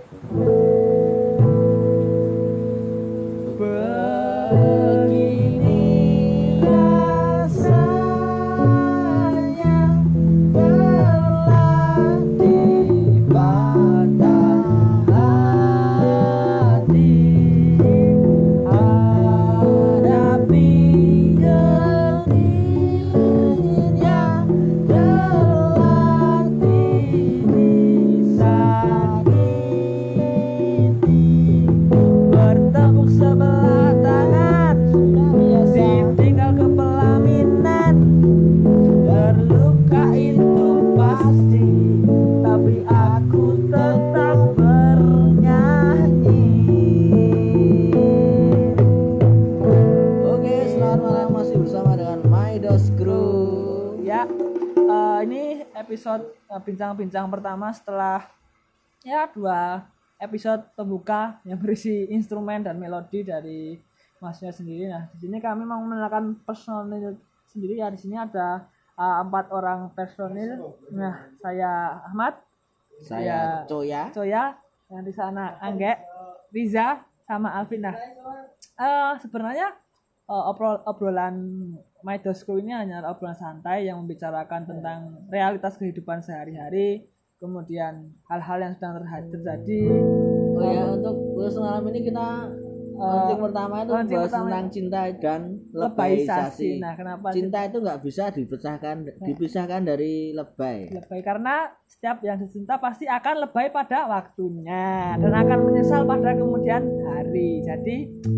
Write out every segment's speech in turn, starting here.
Episode bincang-bincang pertama setelah ya 2 episode pembuka yang berisi instrumen dan melodi dari Masnya sendiri. Nah, di sini kami mau mengenalkan personil sendiri ya. Di sini ada 4 orang personil. Nah, saya Ahmad, saya Coya, yang di sana Angge, Riza, sama Alvin. Nah, sebenarnya obrolan My Dosku ini hanya obrolan santai yang membicarakan tentang realitas kehidupan sehari-hari, kemudian hal-hal yang sedang terjadi. Oh ya, untuk malam ini kita launching pertama itu bahas tentang cinta dan lebaisasi. Nah, kenapa cinta itu nggak bisa dipisahkan dari lebay? Lebay karena setiap yang dicinta pasti akan lebay pada waktunya dan akan menyesal pada kemudian hari. Jadi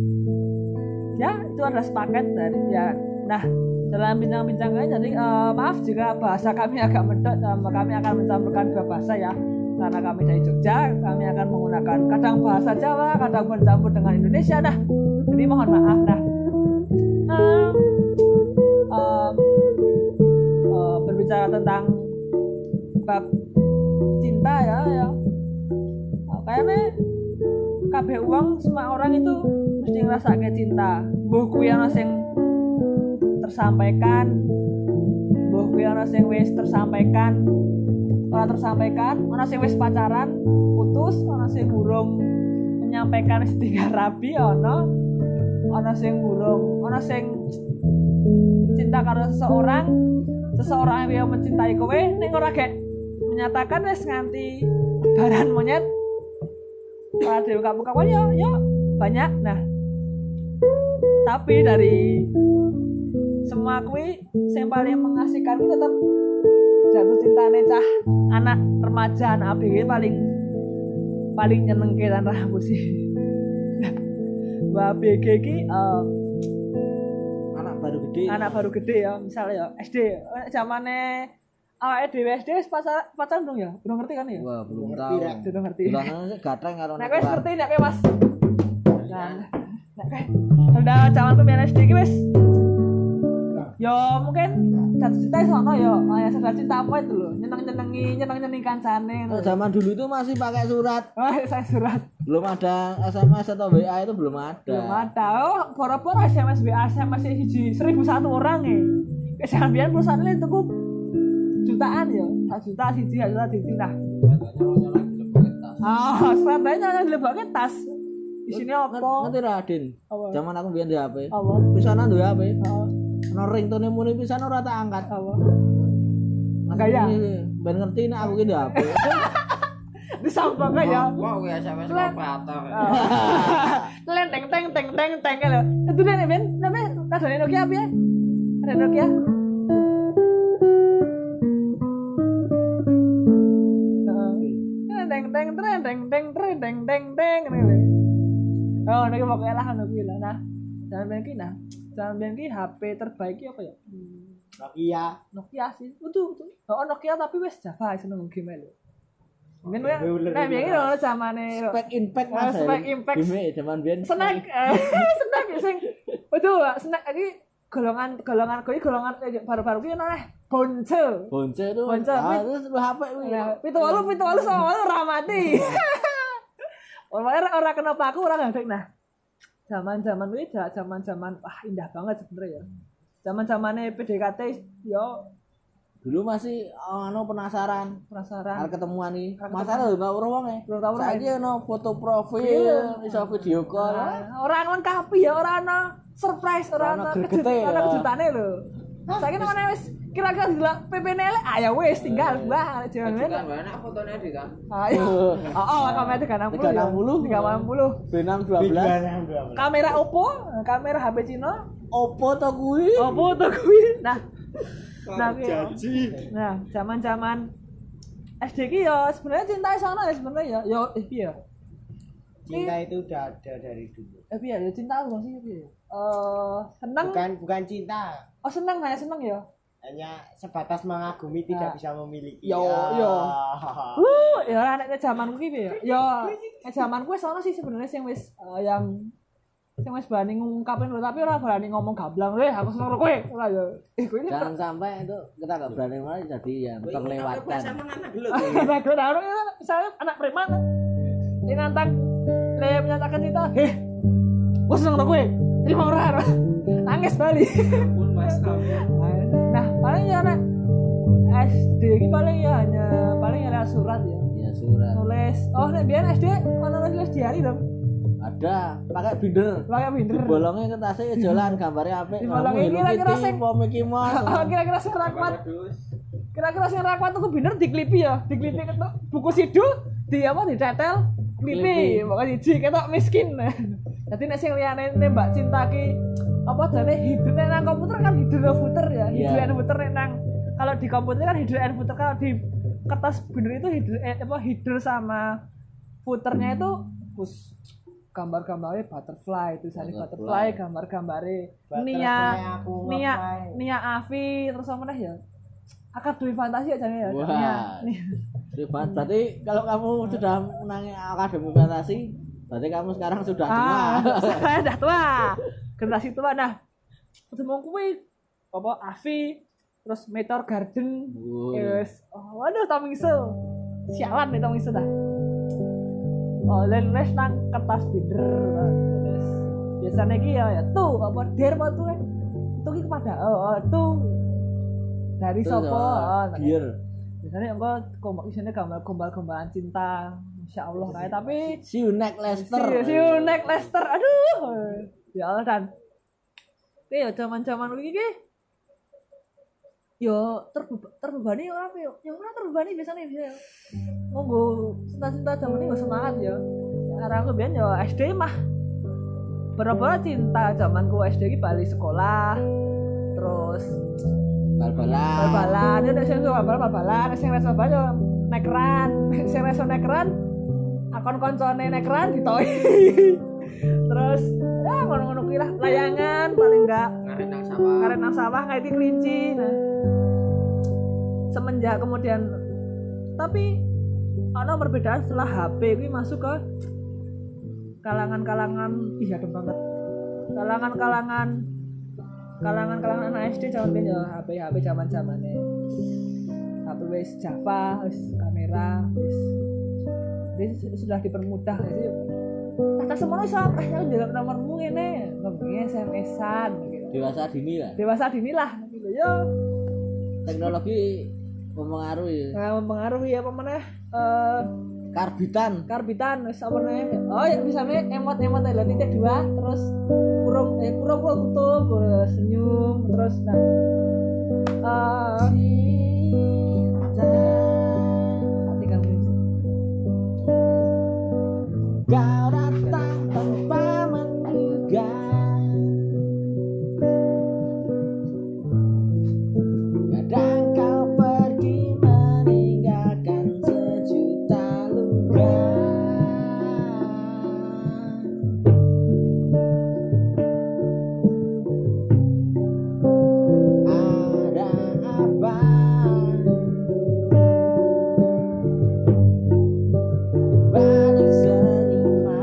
ya itu adalah sepaket dari ya. Nah, dalam bincang-bincangnya jadi maaf jika bahasa kami agak medok, kami akan mencampurkan 2 bahasa ya. Karena kami dari Jogja, kami akan menggunakan kadang bahasa Jawa, kadang bercampur dengan Indonesia. Nah, jadi mohon maaf. Nah, berbicara tentang bab cinta ya. Kayaknya kabeh uang semua orang itu mesti ngerasa kayak cinta. Mbuh kuwi ana sing tersampaikan, mbuh kuwi ana sing wis tersampaikan, ora tersampaikan, ana sing wis pacaran, putus, ana sing burung menyampaikan wis tinggal rabi, ana sing burung, ana sing cinta karo seseorang yang mencintai kowe ning ora gek menyatakan wis nganti baran monyet. Ora dibuka-buka ya banyak. Nah, tapi dari semua kuwi sing paling mengasihkan kuwi tetap jatuh cintane cah anak remaja, anak ABG paling nyenengke lan rambut sih. Mbak ABG iki anak baru gede ya, misalnya ya SD zamane awake dhewe SD wis pacaran dong ya? Belum ngerti kan ya? Wah, belum tahu. Belum ngerti. Bulane gatreng karo nek wis ngerti nek Mas. Nah, nek udah zamanku biyen SD iki wis yo mungkin jatuh cinta sono yo ya sadar cinta apa itu loh, nyeneng kancane. Zaman dulu itu masih pakai surat. Saya surat. Belum ada SMS atau WA, itu belum ada. Oh, boro-boro SMS WA SMS siji 1001 orang kesambian perusahaan ini tuku jutaan yo, 1 juta siji, 1 juta siji. Nah, sebenarnya dilebokke tas. Isinya apa? Ngerti Raden. Zaman aku biyen di HP. Apa? Pisanan duwe HP. Ono ringtone muni pisan ora tak angkat. Apa? Gaya. Ben ngerti nek aku ki di HP. Disampang ya. Kok kuwi SMS operator. Teng lho. Itu dene Ben, namanya kadane Nokia apa ya? Ada Nokia. Teng. Oh, nek pokoke lah ngono kuwi lah. Nah, jangan ben ki HP terbaik apa ya? Nokia sih. Betul. Oh, Nokia tapi wis Java seneng game lho. Men nek biyen lho zamane Spek Impact Mas. Spek Impact. Game zaman biyen. Snack sing. Betul, snack iki golongan kuwi golongan baru-baru kuwi ana Bonce itu. Terus HP kuwi. 78 sama ora mati. Ora kena paku ora gandeng. Nah, zaman-zaman kuwi zaman wah indah banget sebenarnya ya. Zaman-zamane PDKT yo Dulu masih penasaran arep ketemuan nih. Masalah lho ora wonge. Saiki ono foto profil, iso video call. Ora lengkapi ya, ora ana surprise, ora ana kejutane lho. Saiki nang wis kira-kira delok PP-ne elek, ya wis tinggal mbah jalan. Kan enak fotone Adi kan. Kamera 360. B612. Kamera Oppo, kamera HP Cina. Oppo to kuwi. Nah, zaman-zaman SD ki ya sebenarnya cinta sono ya sebenarnya ya. Piye ya? Cinta itu udah ada dari dulu. Piye ya cinta apa sih piye? Seneng. Bukan cinta. Oh, seneng ya. Hanya sebatas mengagumi tidak bisa memiliki. Ya nek zamanku ki piye ya? Ya zamanku wis ono sih sebenarnya sing wis berani ngungkapin lho, tapi ora berani ngomong gamblang, aku seneng karo kowe. Ora ya. Jangan sampai itu kita enggak berani malah jadi yang terlewatkan. Misalnya anak preman ini nantang menyatakan kita, gue seneng karo kowe. Terima ora. Nangis bali. Nah, paling ya nek SD iki paling ya hanya surat ya. Ya surat. Nulis. Oh, nek biyen SD ono nulis diari dong. Ada, pakai binder. Dibolongin ke tasnya jalan gambarnya apik. Dibolongin kira-kira sing Mickey Mouse. Kira-kira sing rakwat tuh binder diklipi ketok buku sidul ditetel klipi. Pokoke siji ketok miskin. Dadi nek sing liyane nembak cinta ki apa jane hidur nang komputer kan hidur footer ya. Hidur and footer nang kalau di komputer kan hidur and footer, kalau di kertas binder itu hidur sama footernya itu gambar-gambarnya butterfly, tulisannya butterfly, gambar-gambarnya Nia Avi, terus apa nih ya? Akademi Fantasi aja ya. Wah. Berarti kalau kamu sudah menangi Akademi Fantasi, berarti kamu sekarang sudah tua. Saya sudah tua. Generasi tua. Nah, ketemu kuwi apa Avi, terus Meteor Garden. Yes. Waduh, Tomingsel. Sialan nih Tomingsel dah. Nulis nang kertas binder terus biasanya ki ya tuh apa der apa tuh itu ki kepada tuh dari sopo biar biasanya engko isine gambar-gambaran cinta, insyaallah kayak tapi see you next Lester aduh ya Allah. Dan ya zaman-zaman iki yo terbebani ora apa yo ora terbebani biasanya bisa monggo cinta-cinta zaman ini semangat ya. Karena aku biyen yo SD mah berapa cinta zamanku SD ki bali sekolah terus bal-balan ya nek sing bal-balan sing reso bal yo nekran akon koncone nekran ditoi terus ya ngono-ngono kuwi lah layangan paling enggak karet nang sawah ngaiti kelinci. Nah semenjak kemudian tapi ada perbedaan setelah HP ini masuk ke kalangan adem banget kalangan anak SD zaman biyen ya HP zaman-zamane HP wis Java wis kamera wis sudah dipermudah sih. Kata semono iso ya njaluk nomormu ngene ngomongnya SMS-an gitu. Dewasa dini lah gitu ya. Teknologi mempengaruhi apa meneh karbitan wis apa meneh ya misalnya emot lha titik 2 terus kurung tutup senyum terus hati kamu kau datang tanpa menduga. Balik seniman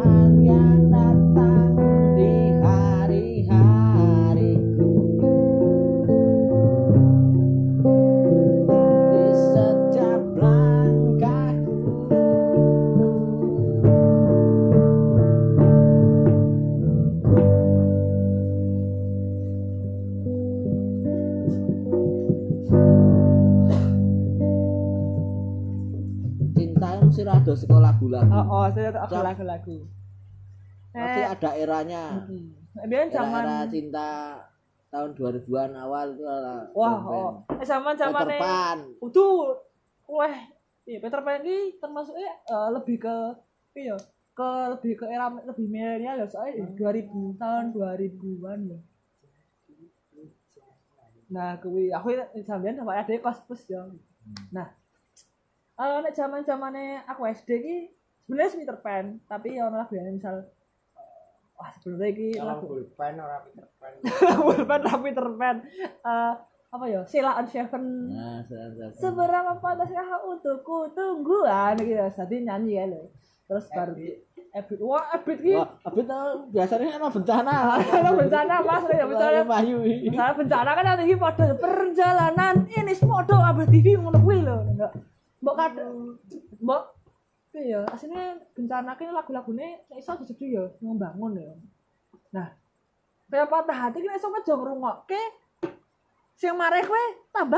podo saka lagu-lagu. Saya lagu-lagu. Pasti ada eranya. Biar zaman era cinta tahun 2000-an awal itu zaman-zamane itu Peter Pan ini termasuk lebih ke lebih ke era lebih milenial ya soalnya 2000 tahun 2000-an ya. Nah, aku sampeyan sampai ada kospus ya. Nah, nek zaman-zamane aku SD iki sebenarnya Peter Pan, tapi ya ono lagu yang misal sebenarnya iki lagu Pulpen ora Peter Pan. Peter Pan. Apa ya? Sheila on Seven. Nah, seberapa pantaskah untukku tungguan gitu. Jadi nyanyi ya lho. Terus baru Ebit. Ebit ki. Ebit biasanya ana bencana. Ana bencana Mas ya misalnya Bayu. Misalnya bencana kan yang iki padha perjalanan ini semodo Abah TV ngono kuwi lho. Mbok kadang mbok ya aslinya bencana ki lagu-lagune nek iso disedhi ya membangun ya. Nah, kaya patah hati ki nek iso aja ngrungokke sing mareh kowe tambah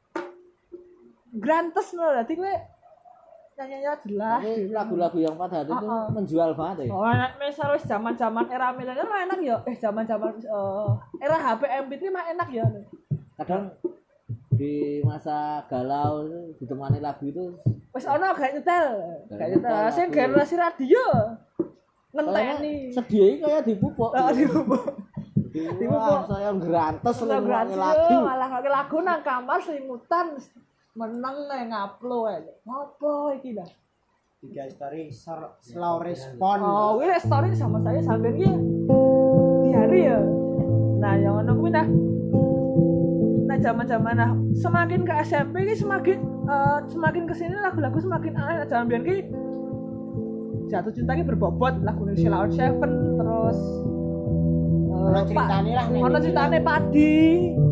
grantes lho. Dadi kowe nyanyinya jelas. Lagu-lagu yang patah hati itu menjual banget ya. Nek misal wis zaman-zaman era milenial mah enak ya. Zaman-zaman era HP MP3 mah enak ya. Kadang di masa galau ditemani lagu itu wis ana gak nyetel. Sing generasi radio ngenteni. Sedih kaya dipupuk. Dipupuk saya grantes lagu. Malah lagu nang kamar selimutan meneng ngaplo ae. Apa iki dah? Tiga story slow respon. Wih story sama saya sampean ki di hari ya. Nah, yang ono kuwi nah. Nah, zaman-zaman semakin ke SMP ki semakin kesini lagu-lagu semakin aneh. Zaman biyen ki jatuh cinta ki berbobot lagu Sheila on Seven terus ono ceritane lah nek. Ono ceritane Padi.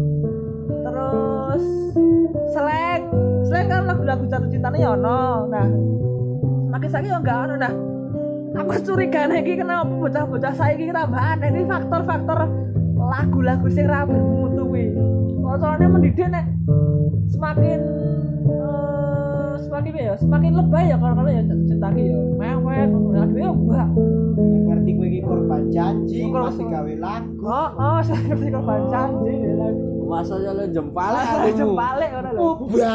Terus Slang kan lagu-lagu jatuh cintane ya ono. Nah, makin saiki ya enggak ono. Nah, aku curigane iki kenapa bocah-bocah saiki tambah aneh iki faktor-faktor lagu-lagu sing ra bermutu kuwi. Soalnya mendidik nek semakin semakin lebay ya kalau ya jatuh cinta ki ya. Mewek ngono ya mbak. Ngerti kowe iki korban janji masih gawe lagu. Saya ngerti korban janji lagu. Masa ya lo jempale ngono lho.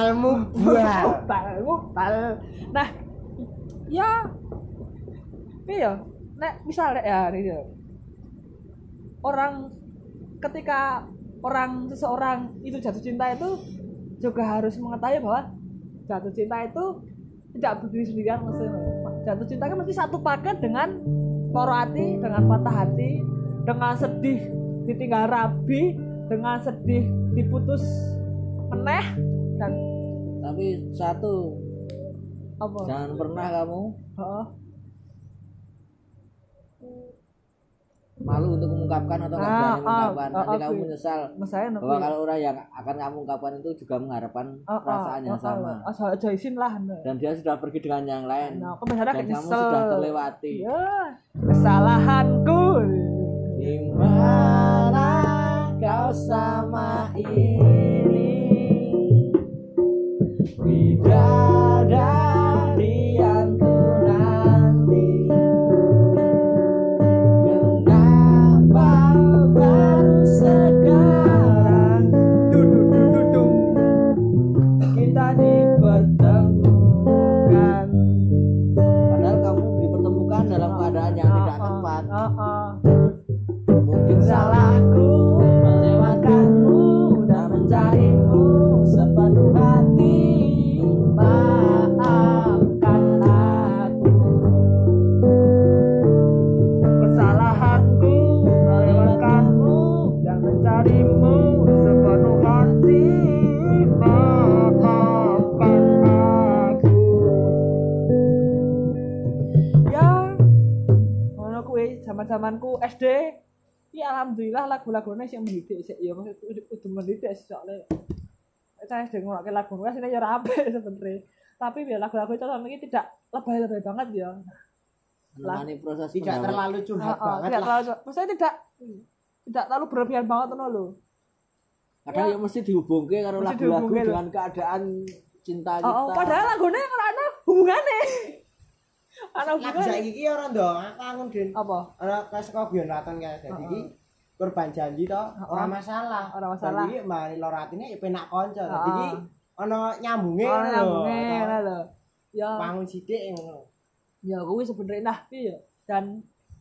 Mubal. Nah, ya iya, nek misal ya ini orang ketika seseorang itu jatuh cinta itu juga harus mengetahui bahwa jatuh cinta itu tidak berdiri sendirian maksudnya. Jatuh cinta kan mesti satu paket dengan loro hati, dengan patah hati, dengan sedih ditinggal rabi, dengan sedih diputus meneh dan tapi satu apa? Jangan pernah kamu malu untuk mengungkapkan atau nggak berani mengungkapkan. Nanti kamu menyesal bahwa kalau orang yang akan kamu ungkapkan itu juga mengharapkan perasaan yang sama. Asal izin lah. Dan dia sudah pergi dengan yang lain. Dan kamu nyesel. sudah terlewati. Ya, kesalahanku. Gimana kau sama ini? Bidadari yang ku nanti. Baru sekarang kita dipertemukan. Padahal kamu dipertemukan dalam keadaan yang tidak tepat. Mungkin salahku melewatkanmu dan mencarimu sepenuh hati. Maafkan aku. Kesalahanku melewatkanmu dan mencarimu sepenuh hati. Maafkan aku. Ya, ngono kuwi zaman-zamanku SD. Ya alhamdulillah lagu-lagune sing mendidik sik ya kudu mendidik soalnya. Saya sedang ngonoke lagu kuwi asline ya ora apik sebenarnya. Tapi ya lagu-lagu itu sampe iki tidak lebay-lebay banget ya. Menemani proses tidak terlalu curhat banget tidak lah. Maksudnya tidak terlalu berlebihan banget ngono lho. Kadang ya mesti dihubungke karo lagu-lagu dengan keadaan cinta kita. Padahal lagune ora ana hubungane. Ana Lagu saiki iki ora ndong, aku angun Den. apa? Ora saka Bion Raton kae. Dadi iki korban janji to, ora masalah. Ora masalah. Dadi mbari loro atine ya penak kanca. Dadi iki ana nyambunge Ana ngono nyambunge lho. ngono lho. Ya Bangun sithik ngono. ya kuwi sebenarnya nah piye dan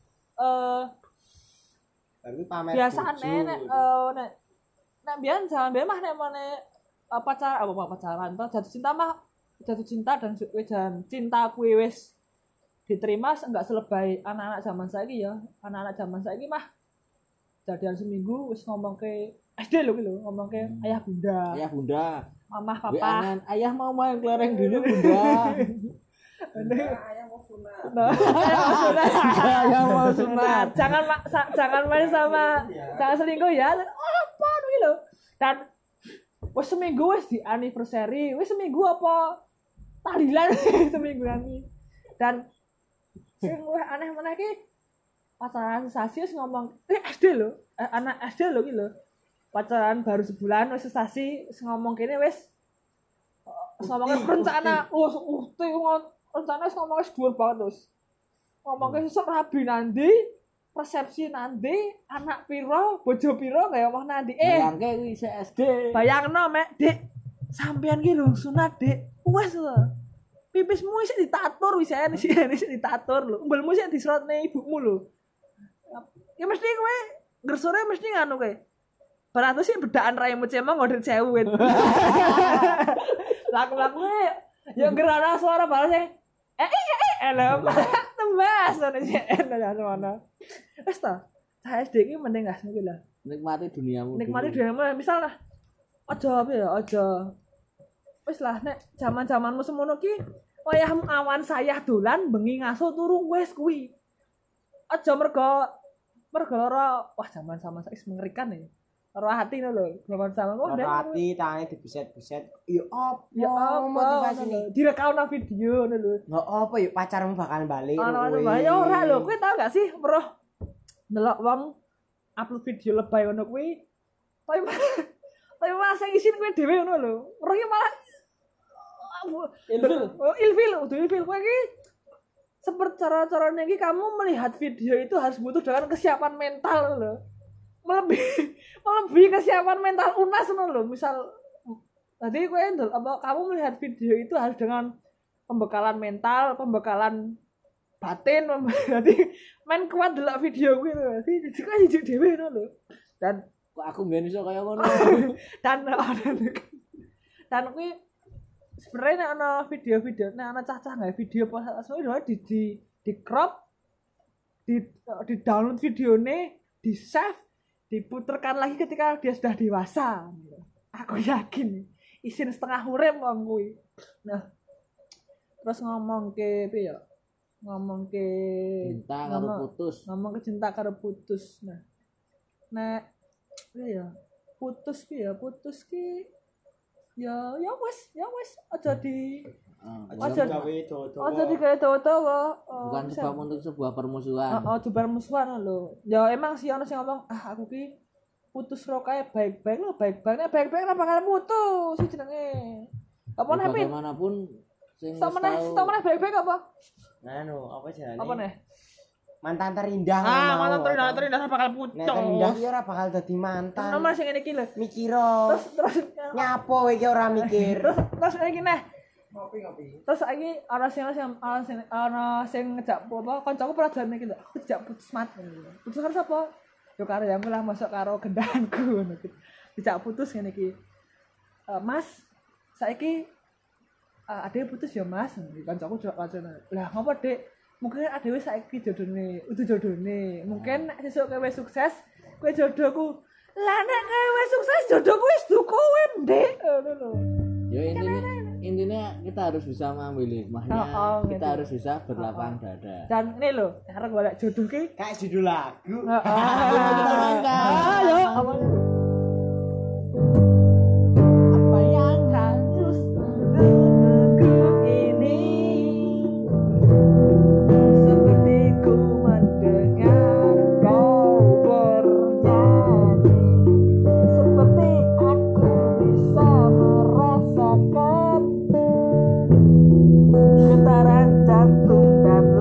Baru pamer. biasane nek nek biyen zaman biyen mah nek mene pacaran to jatuh cinta dan cinta kuwi wis diterima enggak selebay anak-anak zaman saiki ya. Anak-anak zaman saiki mah jadian seminggu wis ngomong ke SD lho ngomong ke ayah bunda. Ayah bunda. Mamah Wi papa. anan, ayah mau main kelereng dulu bunda. Ayah mau sunat. Ayah mau sunat. Jangan main sama jangan selingkuh ya. Apa iki lho. Dan wis seminggu wis di anniversary, wis seminggu apa tahlilan seminggu ini. Dan sing luwih aneh meneh iki pacaran sesasi wis ngomong SD lho, anak SD lho iki lho. Pacaran baru sebulan wis sesasi wis ngomong kene wis ngomong rencana rencana wis ngomong wis dhuwur banget terus. Ngomong ke sesuk rabi nanti resepsi nanti anak piro bojo piro kaya omah nanti Bayangke kuwi isih SD. bayangno mek Dik sampean ki lho sunat Dik wes pipismu isih ditatur wis ditatur lho umbelmu isih diserotne ibumu lho ya mesti kowe gersore mesti nganu kowe beratus sih bedaan raimu cemong ngodet 1000 kan laku-laku ya gerana suara balasnya lho tembas ngono sih ana wis ta cah SD ki mending gas kuwi lah Nikmati duniamu. nikmati dhewe misal lah aja apa ya aja wis lah nek zaman-zamanmu semono ki wayahmu awan sayah dolan bengi ngaso turu wis kuwi aja mergo lara wah zaman-zaman saiki mengerikan ya lara hati lho zaman-zaman wah Ora ati tangi dibeset-beset. Ya apa? ya apa motivasine? direkauna video ngono lho Nggak apa ya pacarmu bakal balik. ana ya ora lho kowe tau gak sih weruh ndelok wong upload video lebay ngono kuwi tapi malah sing isin kowe dhewe ngono lho weruh ki malah ilfil kowe ki seperti cara-caranya iki kamu melihat video itu harus butuh dengan kesiapan mental lho melebihi kesiapan mental unas ngono lho misal tadi kowe kamu melihat video itu harus dengan pembekalan mental pembekalan batin berarti main kuat delok video kuwi lho dadi kok jujur dhewe ngono lho dan Kok aku mbiyen iso kaya ngono. dan kuwi sebenarnya nek ana video-video nek ana cah-cah gawe video semua di crop di download videone di save diputerkan lagi ketika dia sudah dewasa aku yakin isin setengah urip wong kuwi nah terus ngomong ke piye ya ngomong ke Cinta karo putus. ngomong ke cinta karo putus nah nek ya putus ki ya wis aja di Aja gawe dodo. aja digawe dawa-dawa Bukan sebab untuk sebuah permusuhan. coba musuhan lho ya emang sih ana sing ngomong aku ki putus ro kae baik-baik lho baik-baik nek bakal putus sih jenenge apa nek Bagaimanapun sing sama nek baik-baik apa Nanu, apa jenenge? apa nih Mantan terindah. mantan terindah bakal putus Nek terindah ki ora bakal dadi mantan. nomor sing ngene iki lho Mikiro. terus Nyapo iki ora mikir. terus iki neh Ngopi. terus iki ana sing ngejak apa kancaku pernah jalan iki lho aku dijak putus putus karo sapa yo karo yang lah masuk karo gendanganku ngono dijak putus ngene iki Mas saiki ade putus ya Mas kancaku jawab kancane lah ngopo Dik mungkin adewe saiki jodone mungkin nek sesuk kowe sukses kowe jodohku lah nek kowe sukses jodohku wis duku kowe Dik ngono lho Ya intinya kita harus bisa mengambil hikmahnya. Kita gitu. harus bisa berlapang dada. dan ini lho cara golek jodoh ki Kayak judul lagu. ayo apa yang harus menunggu ini seperti ku mendengar kau bernyanyi seperti aku bisa merasakan getaran jantung dan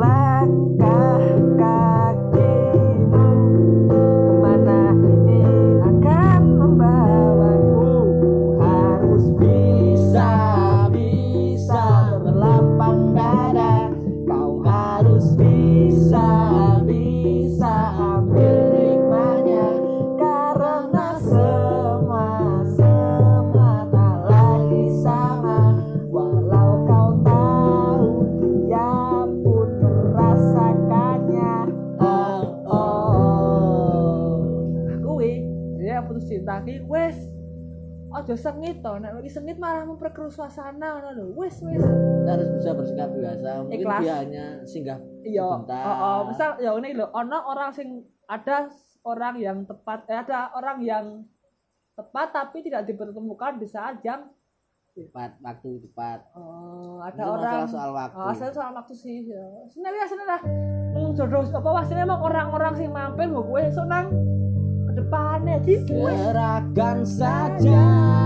ki wis aja sengit to, nek iki sengit malah memperkeruh suasana ngono lho. Wis. Kita harus bisa bersikap biasa. Mungkin Ikhlas. dia hanya singgah Iya. sebentar. Misal ya ngene lho, ana orang sing ada orang yang tepat, ada orang yang tepat tapi tidak dipertemukan di saat yang Tepat, waktu tepat. ada Itu orang masalah soal waktu. soal waktu sih ya. Sebenarnya lah jodoh apa wasine emang orang-orang sing mampir kok kowe esuk nang ke depannya di Serahkan saja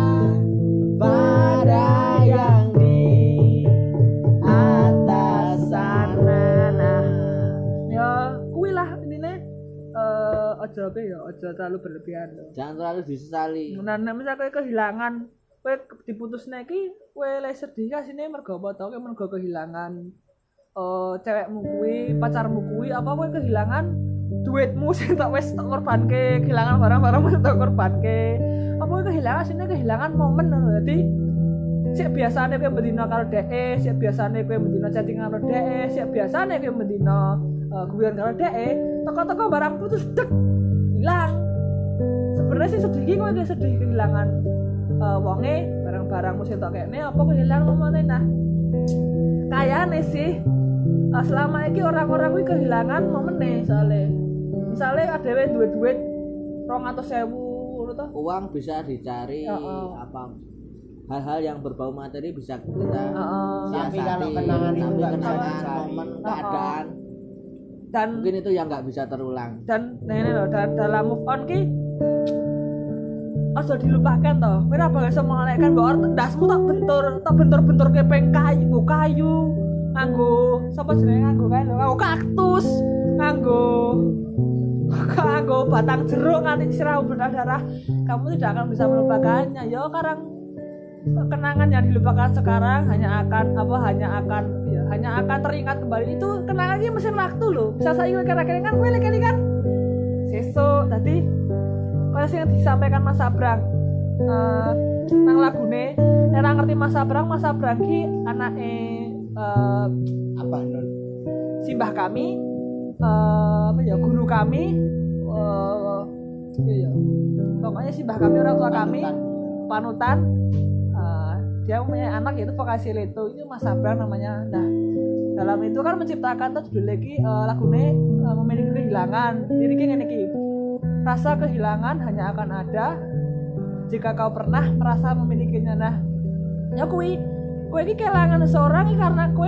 pada yang di atas sana. ya kuwi lah intine aja terlalu berlebihan lho. Jangan terlalu disesali. Nah, nek misal kowe kehilangan, kowe diputusne iki kowe le sedih kasine mergo apa to? Kowe mergo kehilangan cewekmu kuwi, pacarmu kuwi, apa kowe kehilangan duitmu sing tak wis tak korbanke, kehilangan barang-barangmu sing tak korbanke. Apa kowe kehilangan momen ngono. Dadi sik biasane kowe mendina karo dhek, sik biasane kowe mendina chatting karo dhek, sik biasane kowe mendina guyon karo dhek, teko-teko barang putus dek hilang. Sebenarnya sih sedih iki kowe sedih kehilangan wonge, barang-barangmu sing tak kene apa kehilangan momene. Nah, kayane sih selama ini orang-orang kuwi kehilangan momene misalnya ada duit 200.000 ngono to. Uang bisa dicari apa hal-hal yang berbau materi bisa kita Tapi siasati. kalau kenangan itu nggak bisa kenangan, dicari. momen, keadaan Dan mungkin itu yang nggak bisa terulang. ini loh dalam move on ki aja dilupakan toh. Kowe ora bakal iso mengalihkan bahwa ndasmu tak bentur ke peng kayu nganggo sapa jenenge nganggo kae lho, nganggo kaktus, nganggo batang jeruk nganti sirah berdarah. Kamu tidak akan bisa melupakannya. Ya karang kenangan yang dilupakan sekarang hanya akan teringat kembali. Itu kenangan iki mesin waktu loh. Bisa saiki kira-kira kan kowe lek kan sesuk tadi kaya sing disampaikan Mas Abrang nang lagune ora ngerti Mas Abrang ki anake Abah Nun. simbah kami guru kami pokoknya simbah kami, orang tua kami panutan. Dia punya anak yaitu vokasi itu Mas Abrang namanya. Nah, dalam itu kan menciptakan judul lagi lagune memiliki kehilangan. Liriknya ngene iki. Rasa kehilangan hanya akan ada jika kau pernah merasa memilikinya. Nah, ya kowe iki kehilangan seseorang karena kowe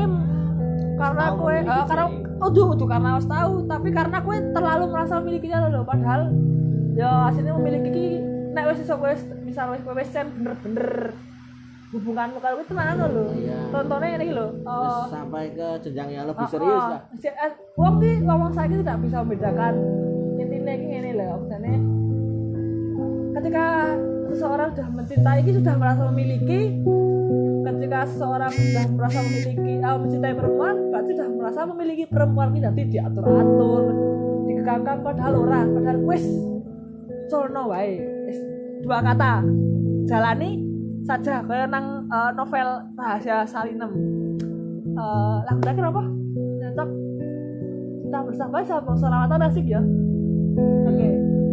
karena harus tahu, tapi karena kowe terlalu merasa memilikinya loh. Padahal ya aslinya memiliki iki nek wis iso kowe misal wis bener-bener hubunganmu kalau itu mana lho. Iya. Contohnya ini lho. Sampai ke jenjang yang lebih serius lah. Wong ki ngomong saiki tidak bisa membedakan. Intinya ini lho, maksudnya ketika seseorang sudah mencintai ini sudah merasa memiliki, ketika seseorang sudah merasa memiliki mencintai perempuan berarti sudah merasa memiliki perempuan ini. Nanti diatur-atur, dikekangkang, padahal wis colno wae. Dua kata jalani saja kayak nang novel Rahasia Salinem. Lagu terakhir apa? Nyocok kita bersama sama selawatan asik ya. Oke.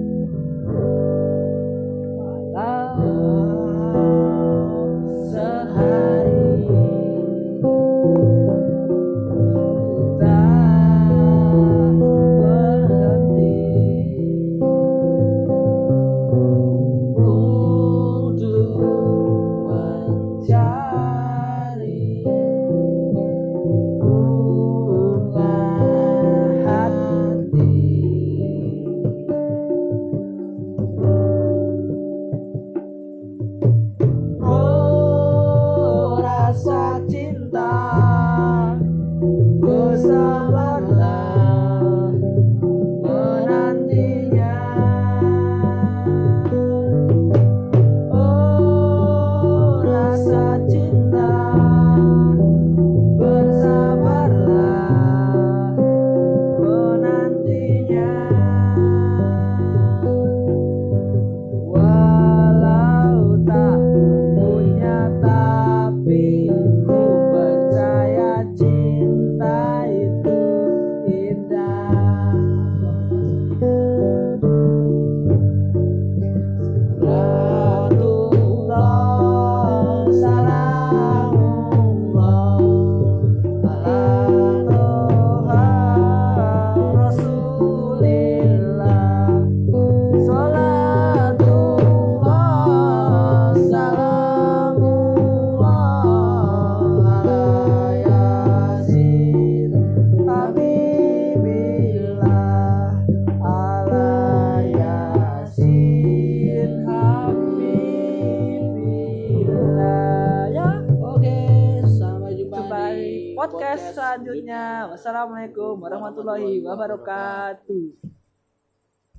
Sehari podcast selanjutnya. Wassalamualaikum warahmatullahi wabarakatuh.